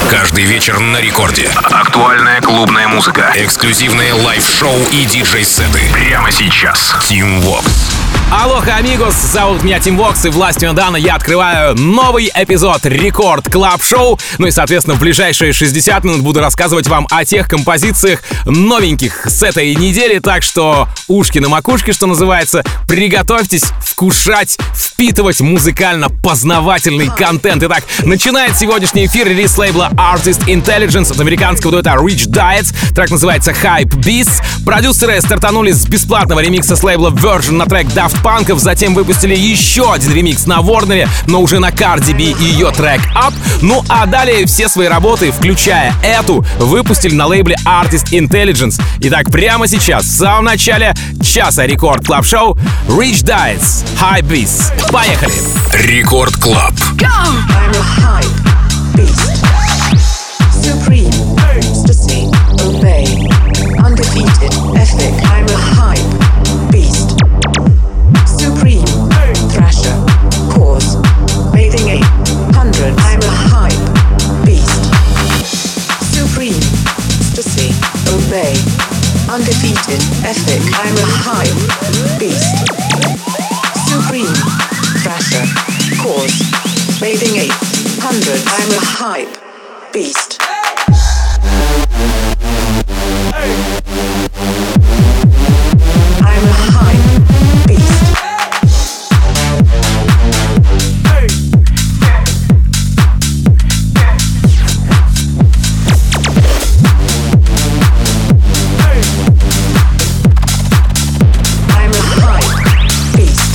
Каждый вечер на рекорде. Актуальная клубная музыка. Эксклюзивные лайв-шоу и диджей-сеты. Прямо сейчас. Team Vox. Алоха, амигос, зовут меня Тим Вокс, и властью Дана я открываю новый эпизод Рекорд Клаб Шоу. Ну и, соответственно, в ближайшие 60 минут буду рассказывать вам о тех композициях новеньких с этой недели. Так что ушки на макушке, что называется, приготовьтесь вкушать, впитывать музыкально-познавательный контент. Итак, начинает сегодняшний эфир релиз лейбла Artist Intelligence от американского дуэта Rich Diets. Трек называется Hype Beasts. Продюсеры стартанули с бесплатного ремикса с лейбла Virgin на трек Daft Punk'ов, затем выпустили еще один ремикс на Warner, но уже на Cardi B и ее трек Up. Ну а далее все свои работы, включая эту, выпустили на лейбле Artist Intelligence. Итак, прямо сейчас, в самом начале часа Рекорд Клаб Шоу, Rich Diets, Hype Beasts. Поехали! Рекорд Клаб. I'm a hype beast. Supreme, ecstasy, obey. Undefeated, epic. I'm a hype beast. Supreme, thrasher, cause. Bathing 800. I'm a hype beast. Supreme, ecstasy, obey. Undefeated, epic. I'm a hype beast. Supreme, thrasher, cause. Bathing 800. I'm a hype beast. I'm a hype beast. I'm a hype beast.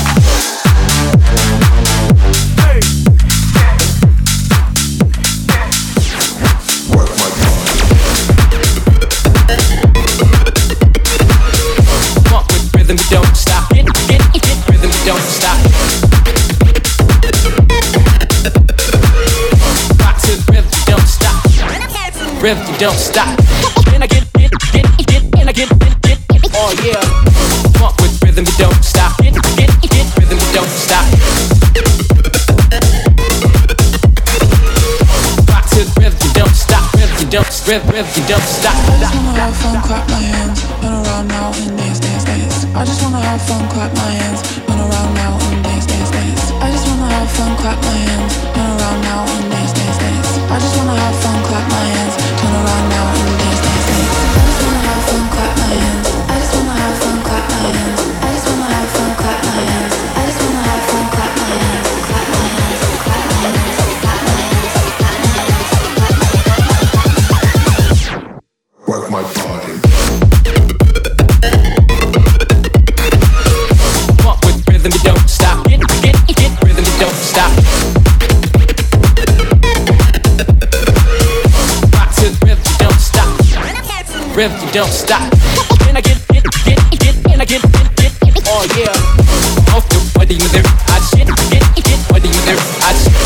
Rhythm, we don't stop. Get rhythm, we don't stop. Rock to the rhythm, we don't stop. Rhythm, we don't stop. And I get, and I get, oh yeah. Funk with rhythm, we don't stop. Get rhythm, we don't stop. Rock to the rhythm, we don't stop. Rhythm, we don't stop. I just wanna have fun, clap my hands, run around now and dance, dance, dance. I just wanna have fun, clap my hands, run around now and dance, dance, dance. I just wanna have fun, clap my hands, run around now and dance, dance, dance. I just wanna have fun, clap my hands, turn around now and dance, dance, dance. I just wanna have fun, clap my hands. I just wanna have fun, clap my hands. I just wanna have fun, clap my hands. I just wanna have fun, clap my hands, clap my hands, clap my hands, clap my hands, clap my hands. Work my body. Funk with rhythm, we don't stop. Get rhythm, we don't stop. Rock to the rhythm, we don't stop. Rhythm, we don't stop. And I get, and I get, oh yeah. Off the body with their hot shit. Get body with their hot shit.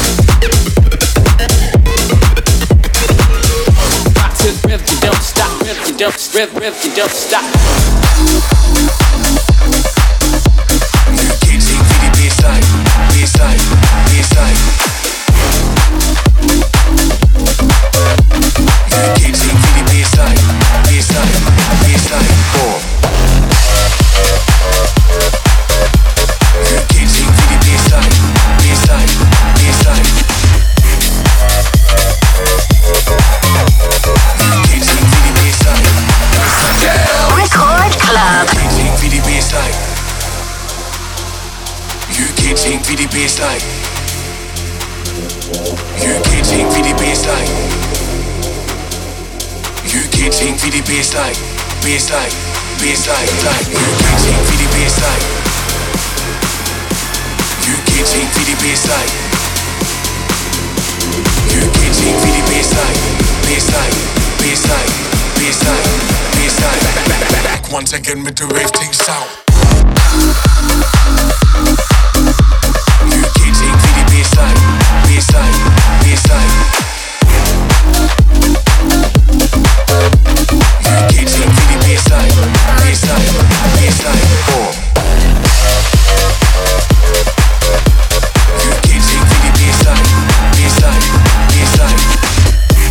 Rock to the rhythm, we don't stop. Rhythm, we don't stop. You can't take the baseline, baseline, baseline. You can't take the baseline, baseline, baseline. You can't take the baseline, baseline, baseline. You can't take the baseline, baseline. Record Club. You can't take the baseline. You can't take the baseline. You can't take the baseline. Baseline, baseline, line. You can't take the baseline. You can't take the baseline. You can't take the baseline. Baseline, baseline, baseline, baseline. Back once again with the rave thing sound. You can't take the baseline, baseline, baseline. You can't take the baseline, baseline, baseline. You can't take the baseline, baseline, baseline.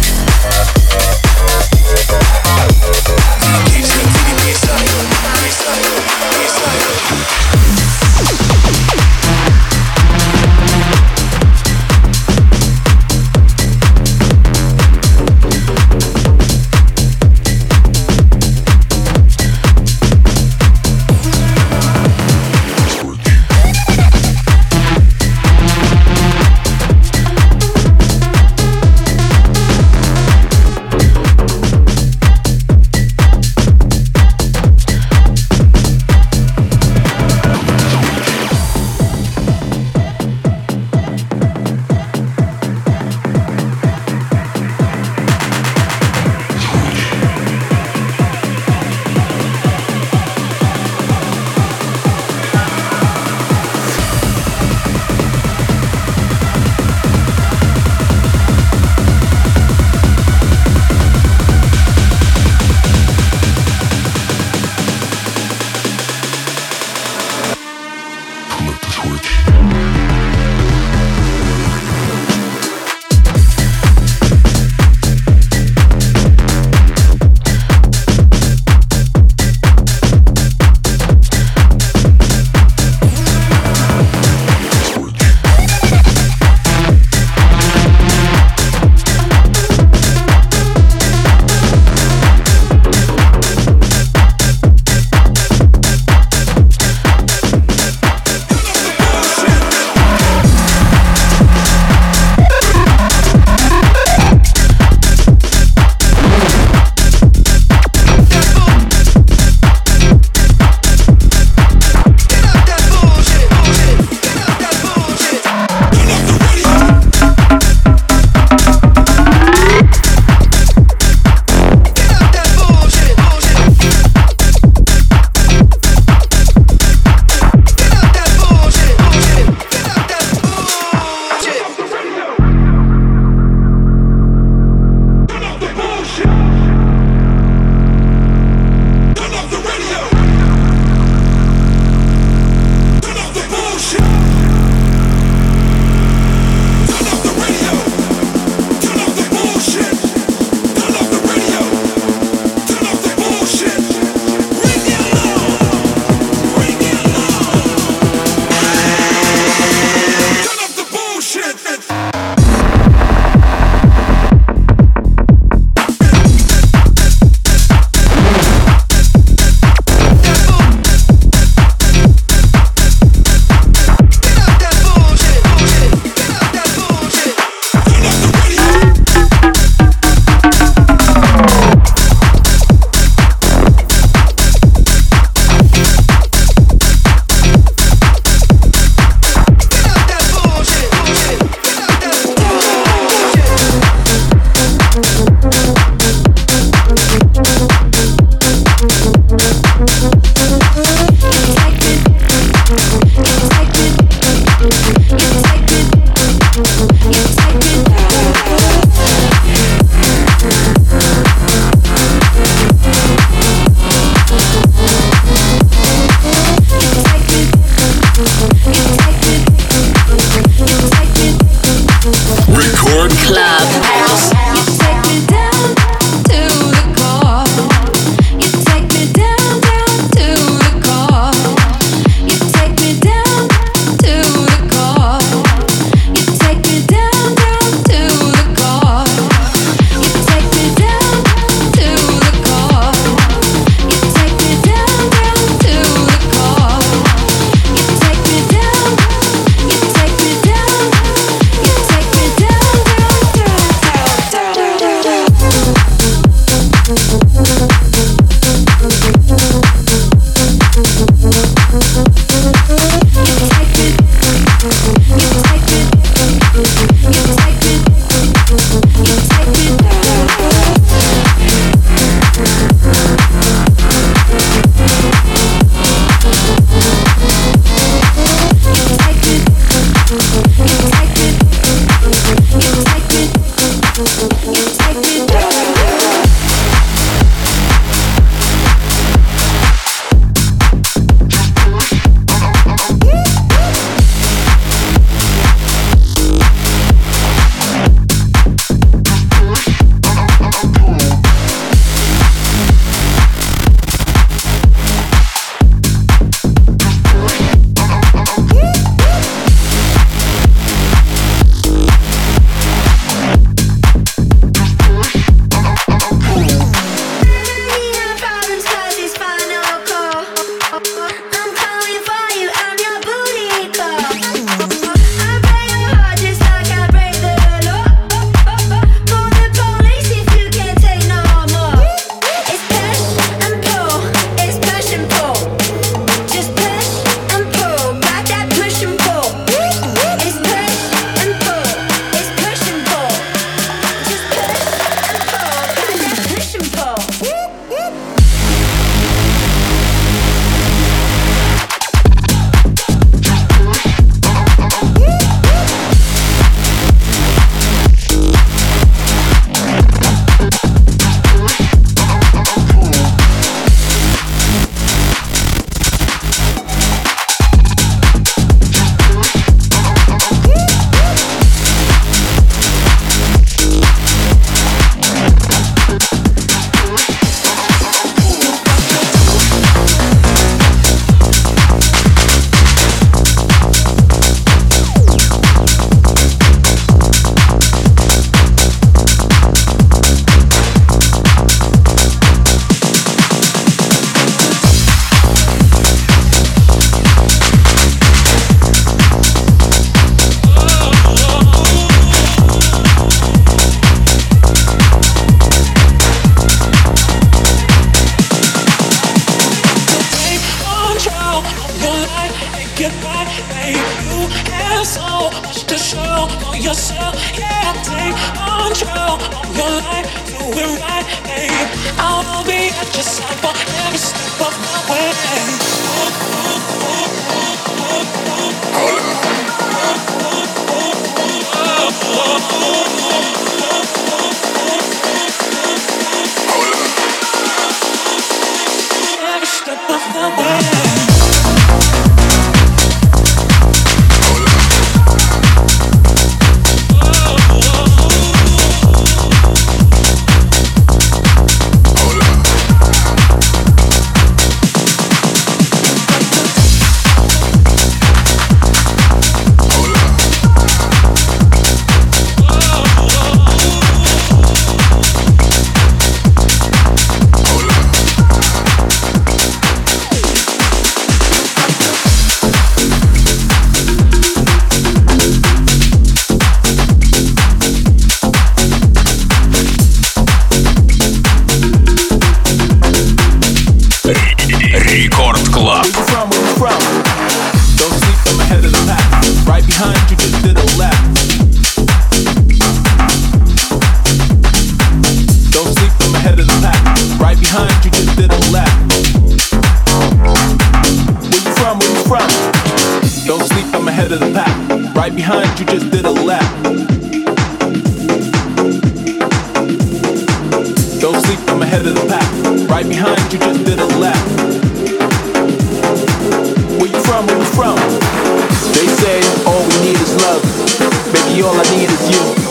They say all we need is love. Baby, all I need is you.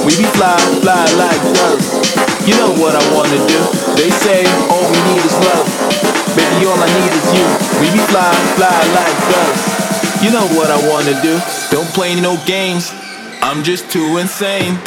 We be fly, fly like dirt. You know what I wanna do. They say all we need is love. Baby, all I need is you. We be fly, fly like dirt. You know what I wanna do. Don't play no games. I'm just too insane.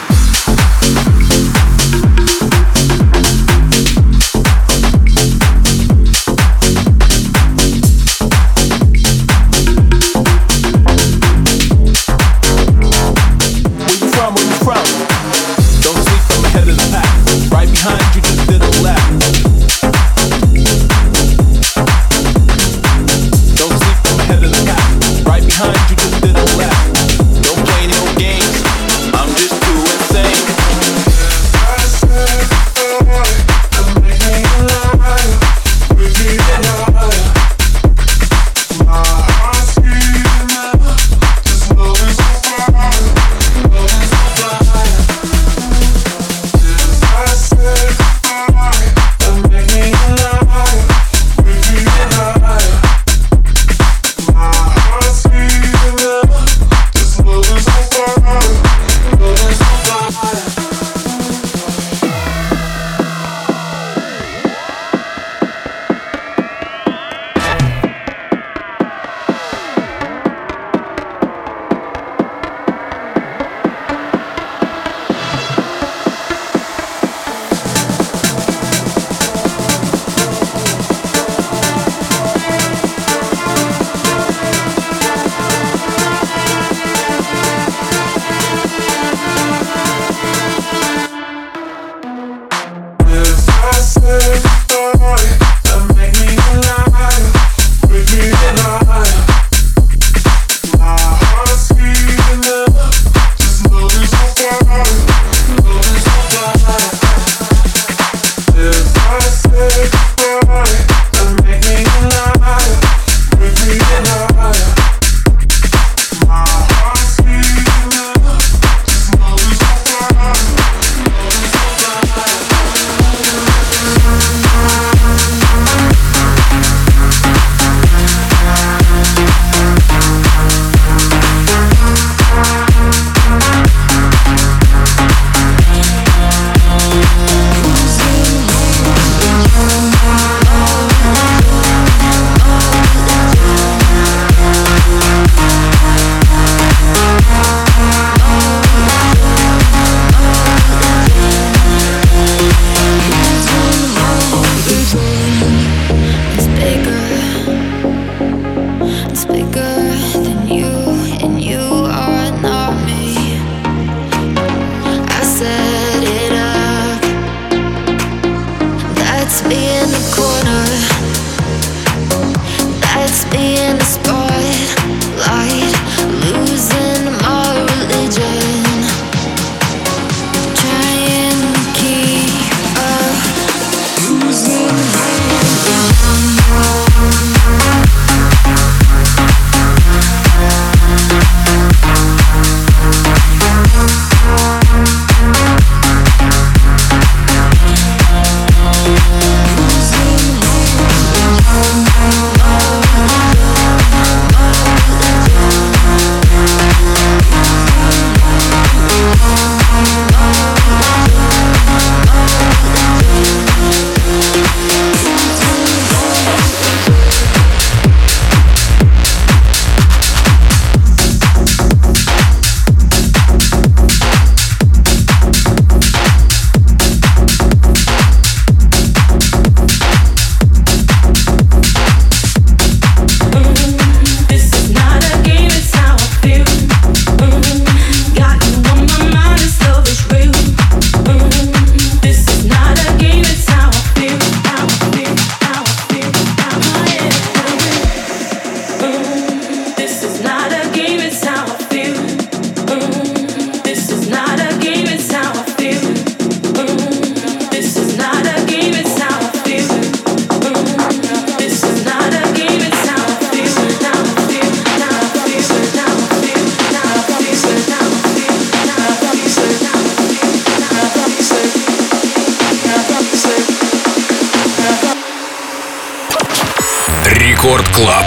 Рекорд Клаб.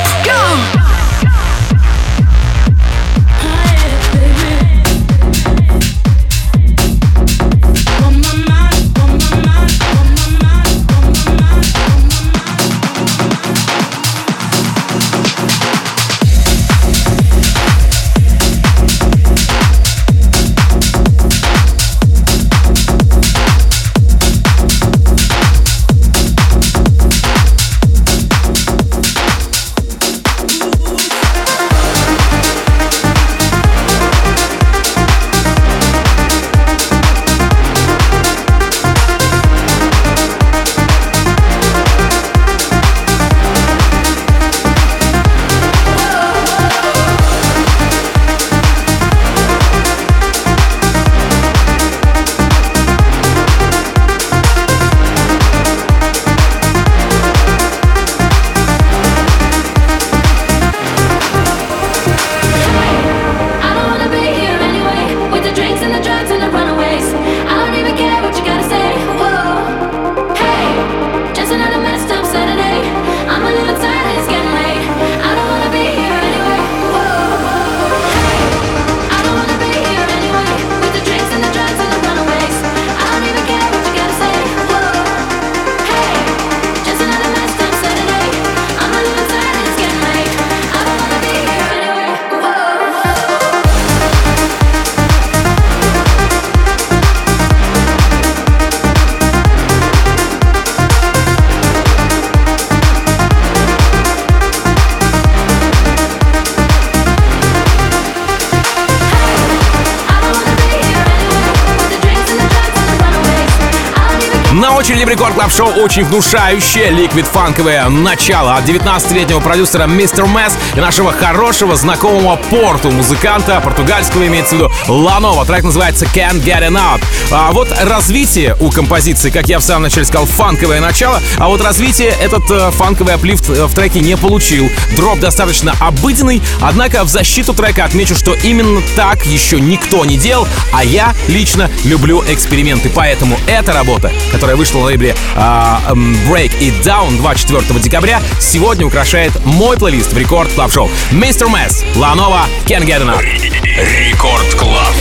На очереди в Рекорд Клаб Шоу очень внушающее ликвид-фанковое начало от 19-летнего продюсера Mr. Mess и нашего хорошего знакомого Порту, музыканта португальского, имеется в виду Ланова. Трек называется Can't Get Enough. А вот развитие у композиции, как я в самом начале сказал, фанковое начало, а вот развитие этот фанковый аплифт в треке не получил. Дроп достаточно обыденный, однако в защиту трека отмечу, что именно так еще никто не делал, а я лично люблю эксперименты, поэтому эта работа, которая вышла на лейбле Break It Down 24 декабря, сегодня украшает мой плейлист в Рекорд Клаб Шоу. Mr. Mess, Ланова, Can't Get Enough. Рекорд Клаб.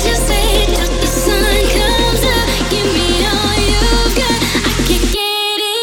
Get it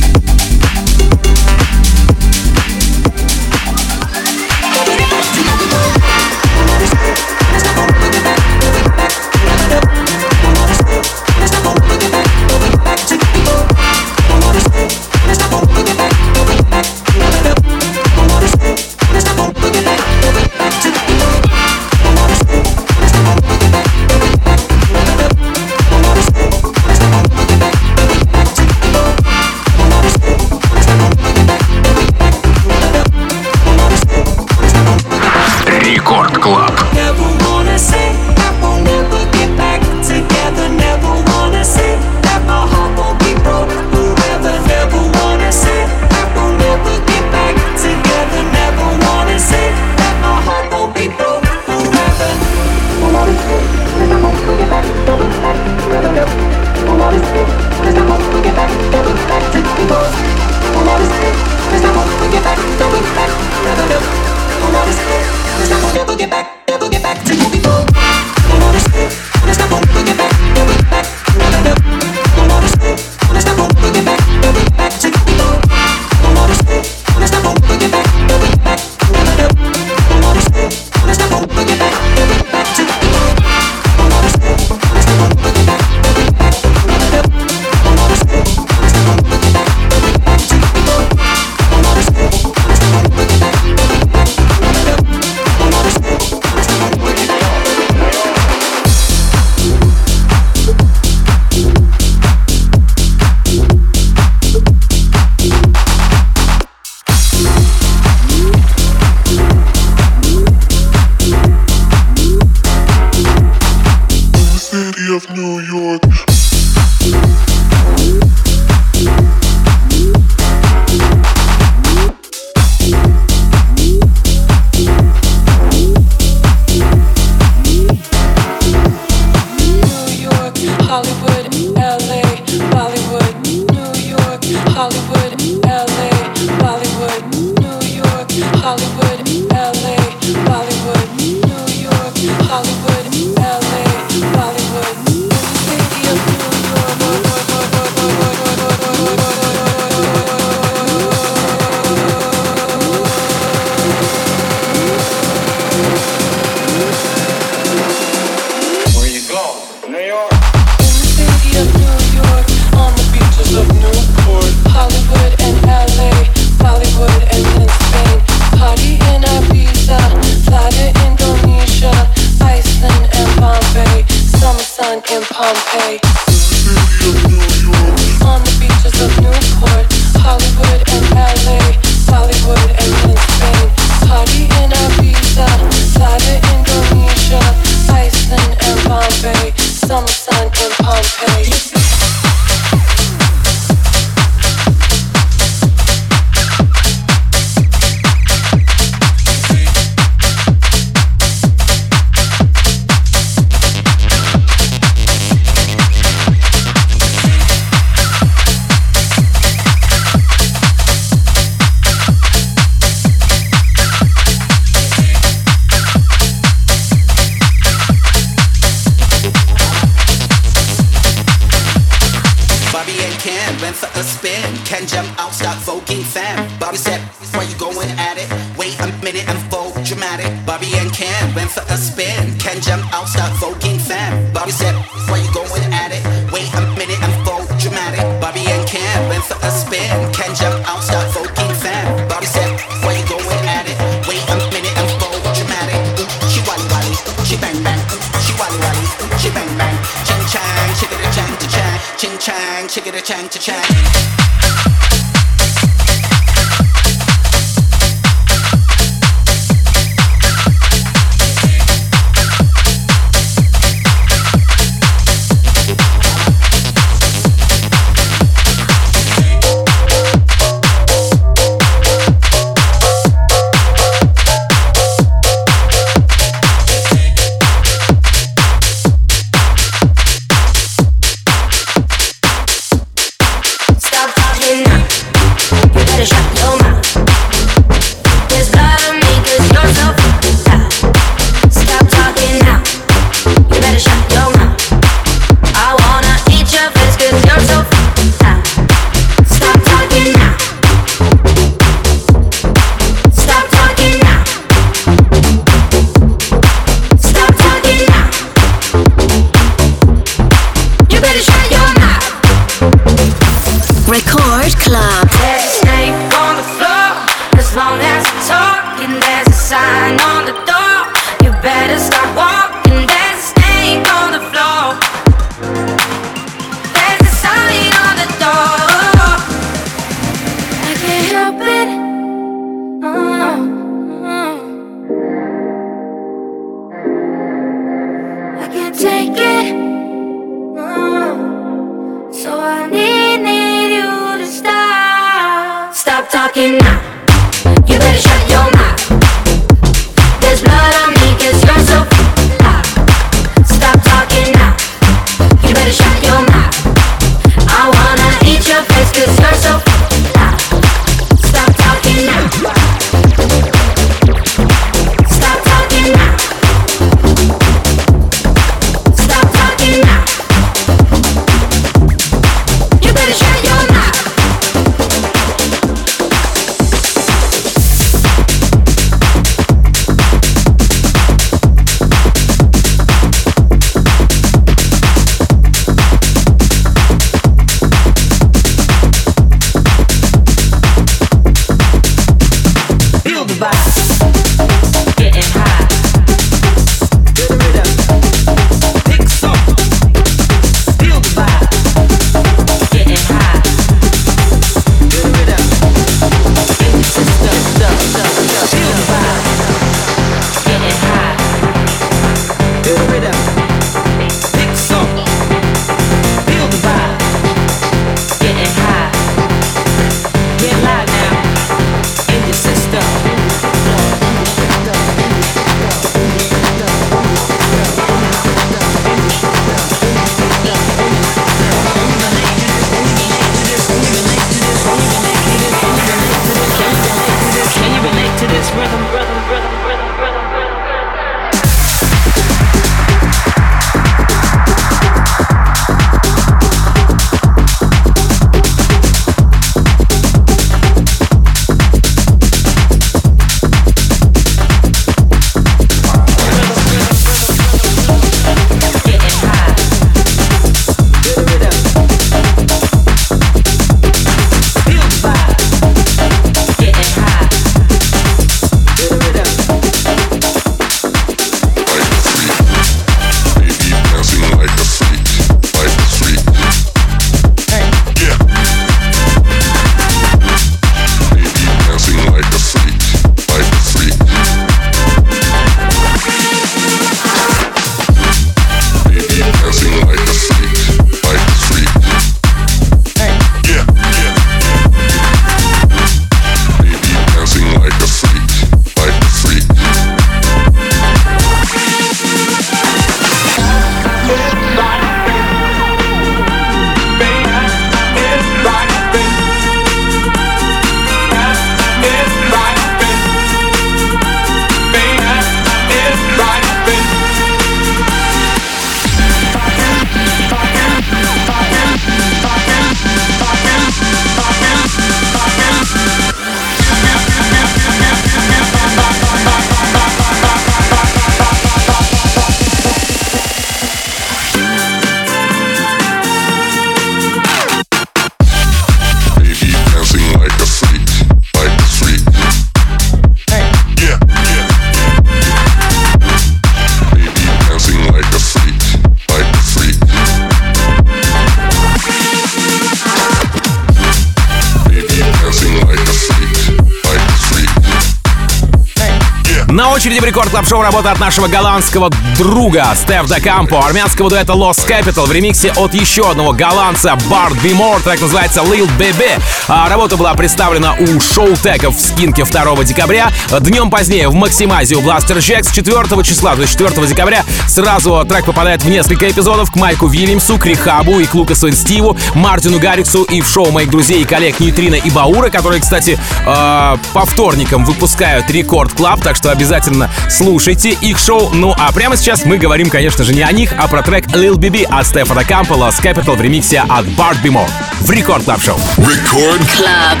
На очереди в Рекорд Клаб Шоу работа от нашего голландского друга Стеф да Кампо, армянского дуэта Lost Capital в ремиксе от еще одного голландца Bart Bimore, трек называется Lil Baby. Работа была представлена у шоу-теков в Скинке 2 декабря. Днем позднее в Максимазе у Blaster Jacks 4 числа, то есть 4 декабря, сразу трек попадает в несколько эпизодов к Майку Вильямсу, к Рихабу и к Лукасу и Стиву, Мартину Гарриксу и в шоу моих друзей и коллег Нейтрино и Баура, которые, кстати, по вторникам выпускают Рекорд Клаб, так что обязательно слушайте их шоу. Ну а прямо сейчас мы говорим, конечно же, не о них, а про трек Lil Baby от Стефа да Кампо, Lost Capital в ремиксе от Bart Bimore в Рекорд Клаб Шоу. Рекорд Клаб.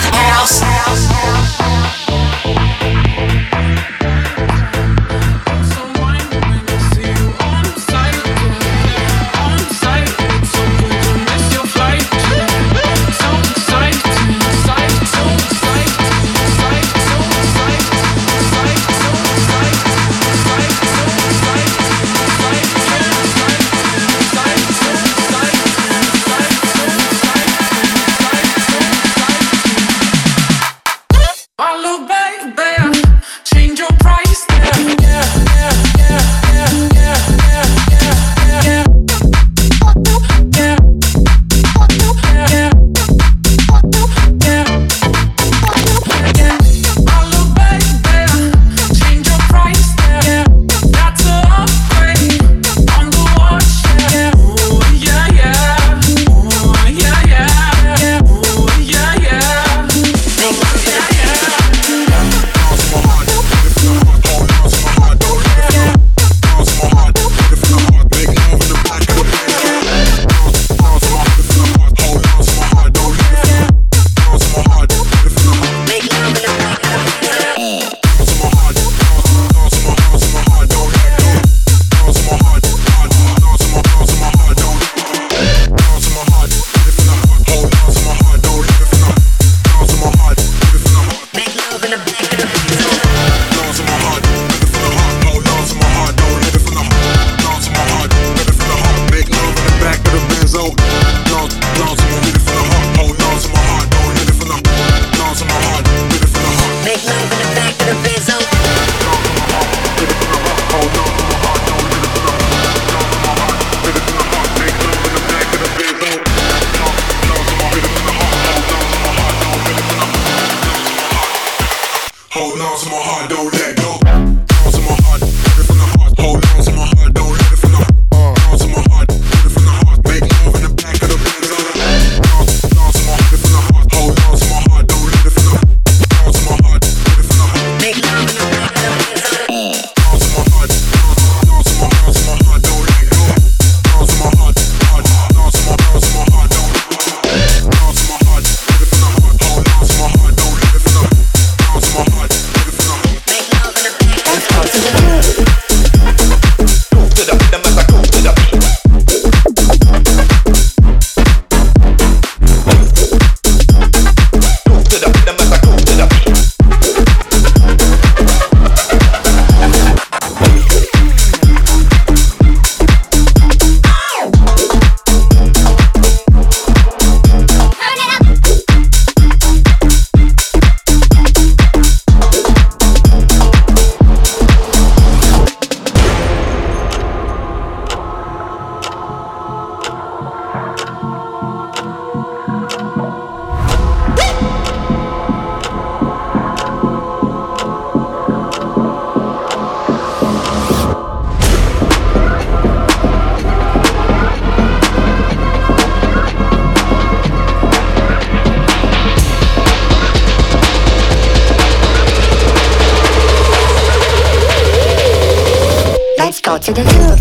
To the hood.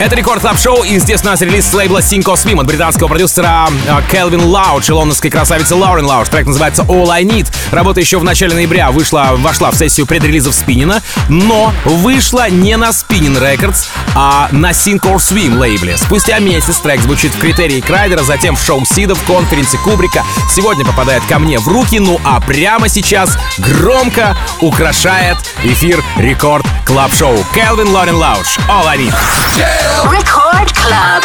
Это Рекорд Клаб Шоу и, естественно, релиз с лейбла Synco Swim от британского продюсера Келвин Лауч и лондонской красавицы Лорен Лауч. Трек называется All I Need. Работа еще в начале ноября вошла в сессию предрелизов Спиннина, но вышла не на Spinnin Records, а на Synco Swim лейбле. Спустя месяц трек звучит в критерии Крайдера, затем в шоу Сида, в конференции Кубрика. Сегодня попадает ко мне в руки, ну а прямо сейчас громко украшает эфир Рекорд Клаб Шоу. Келвин Лорен Лауч. All I Need. Record Club.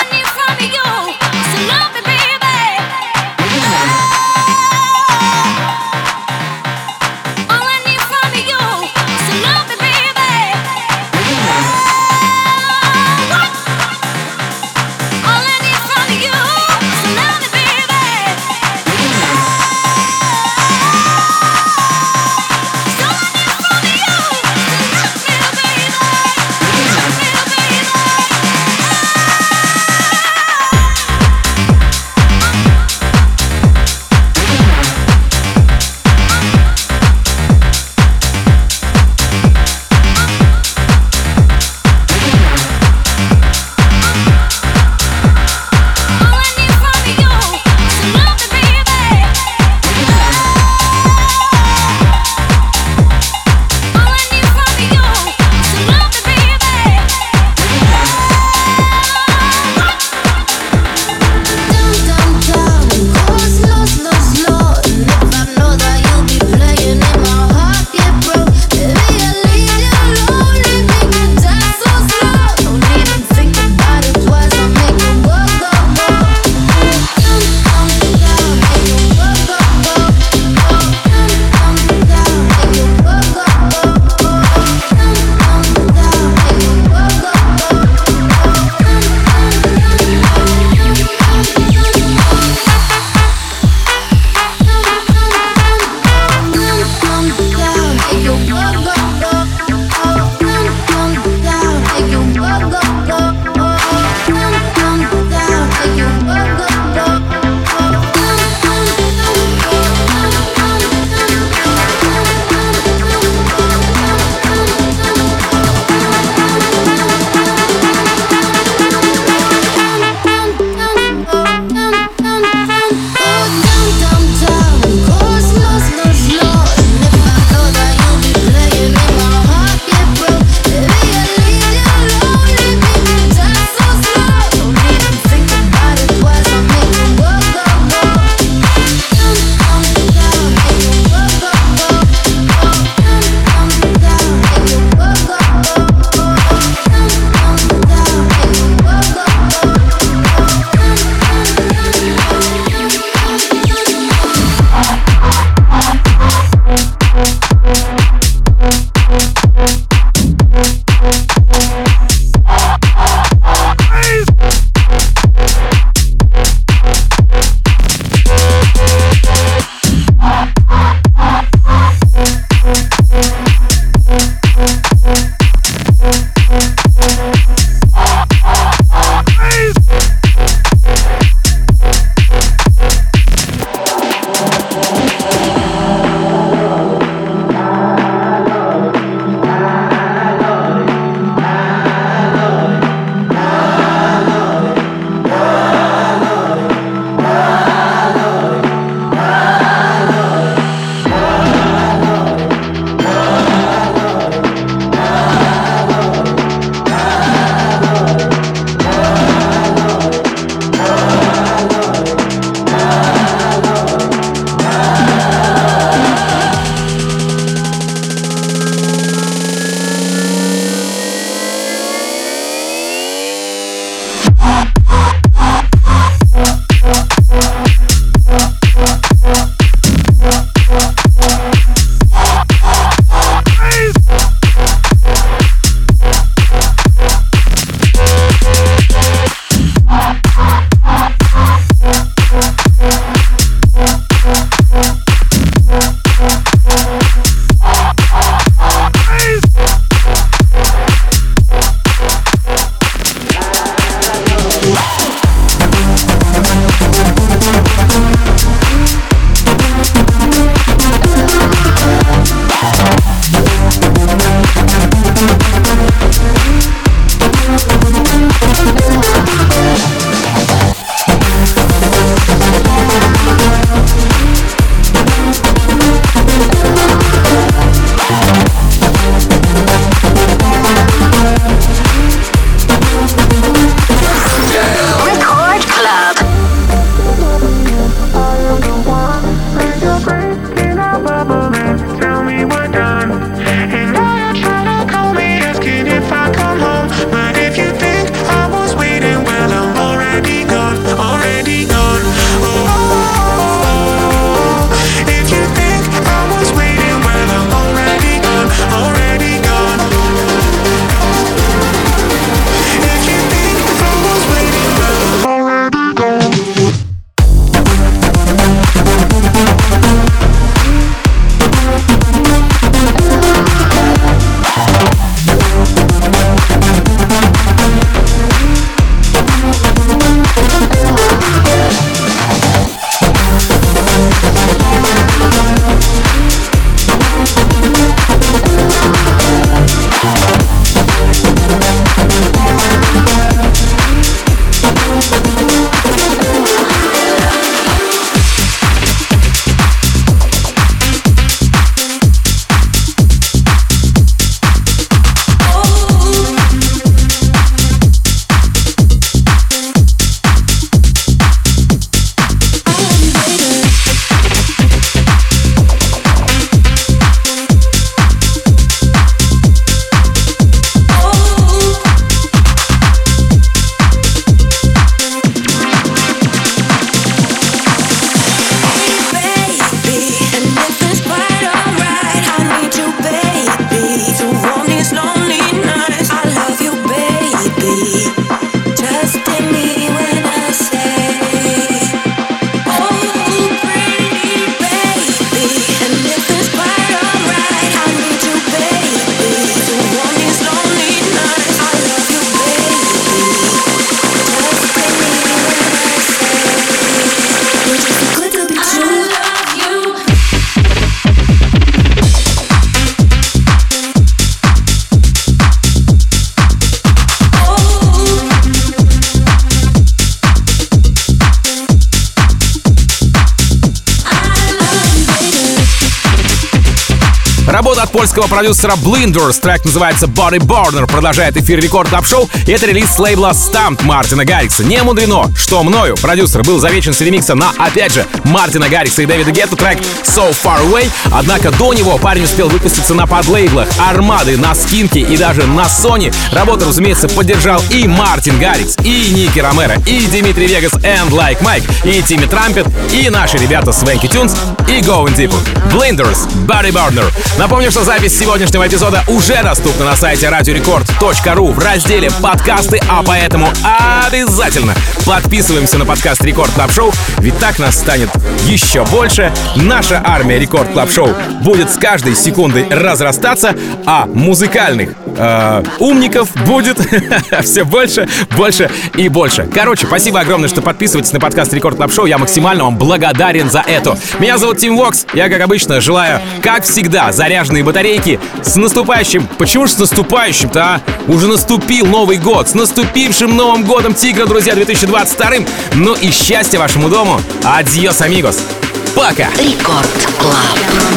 Работа от польского продюсера Blinders, трек называется Body Burner, продолжает эфир Рекорд Клаб Шоу, и это релиз с лейбла Stamped Мартина Гаррикса. Не мудрено, что мною продюсер был замечен с ремиксом на, опять же, Мартина Гаррикса и Дэвида Гетта трек So Far Away, однако до него парень успел выпуститься на подлейблах Армады, на Скинке и даже на Sony. Работу, разумеется, поддержал и Мартин Гаррикс, и Ники Ромеро, и Димитри Вегас, and Like Mike, и Тимми Трампет, и наши ребята Свенки Тюнс, и Going Deeper. Blinders, Body Burner. Напомню, что запись сегодняшнего эпизода уже доступна на сайте radiorecord.ru в разделе «Подкасты», а поэтому обязательно подписываемся на подкаст Рекорд Клаб Шоу, ведь так нас станет еще больше. Наша армия Рекорд Клаб Шоу будет с каждой секундой разрастаться, а музыкальных умников будет все больше, больше и больше. Короче, спасибо огромное, что подписываетесь на подкаст Рекорд Клаб Шоу. Я максимально вам благодарен за это. Меня зовут Тим Вокс. Я, как обычно, желаю, как всегда, заряженные батарейки. С наступающим... Почему же с наступающим-то, а? Уже наступил Новый год. С наступившим Новым годом Тигра, друзья, 2022-м. Ну и счастья вашему дому. Адьос, амигос. Пока. Рекорд Клаб.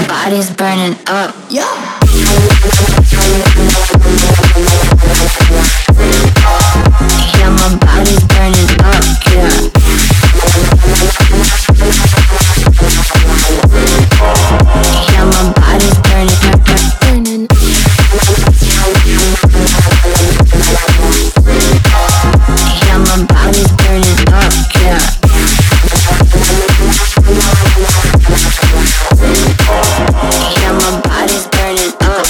Yeah, my body's burning up, yeah. Yeah, my body's burning, burning. Yeah, my body's burning up, yeah. Yeah, my body's burning up,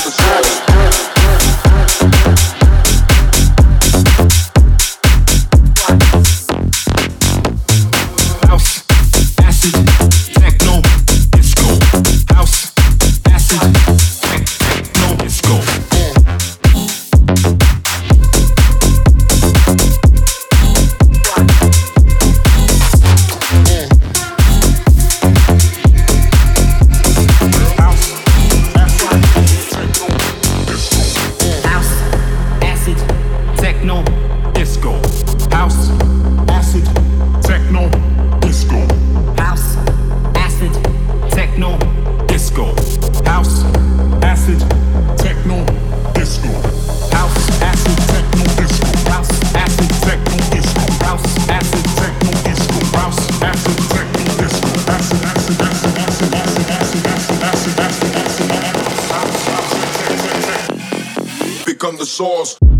Become the source.